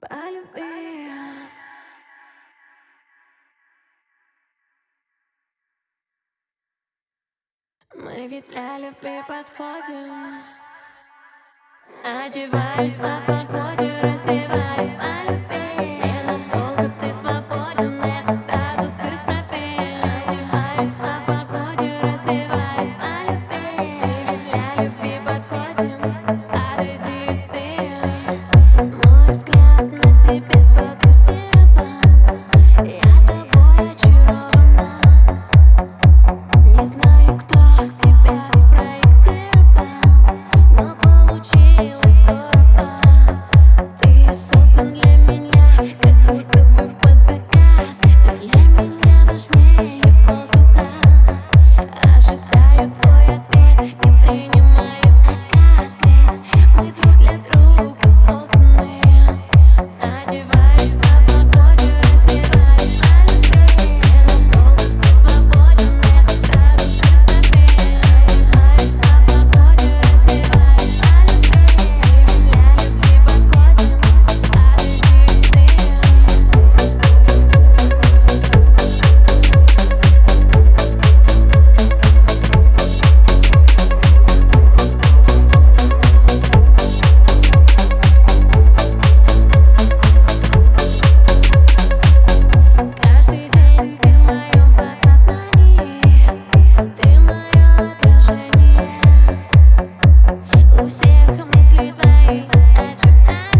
Полюби. Мы ведь для любви подходим. Одеваюсь по погоде, раздеваюсь по любви. Ненадолго ты свободен, это статус исправим. Одеваюсь по погоде, раздеваюсь по любви. Мы ведь для любви подходим. Подойди ты. Мой взгляд на тебе сфокусирован. Я тобой очарована. Не знаю, кто тебя спроектировал, но получилось здорово. Ты создан для меня, как будто бы под заказ. Ты для меня важнее воздуха. Ожидаю твой ответ, не принимаю отказ. Ведь мы друг для друга созданы. Одеваюсь по погоде, раздеваюсь по любви. Ненадолго ты свободен, это статус исправим. Одеваюсь по погоде, раздеваюсь по любви. Мы для любви подходим. Подойди ты. Каждый день ты в моем подсознании, ты мое отражение. У всех мысли твои очертания.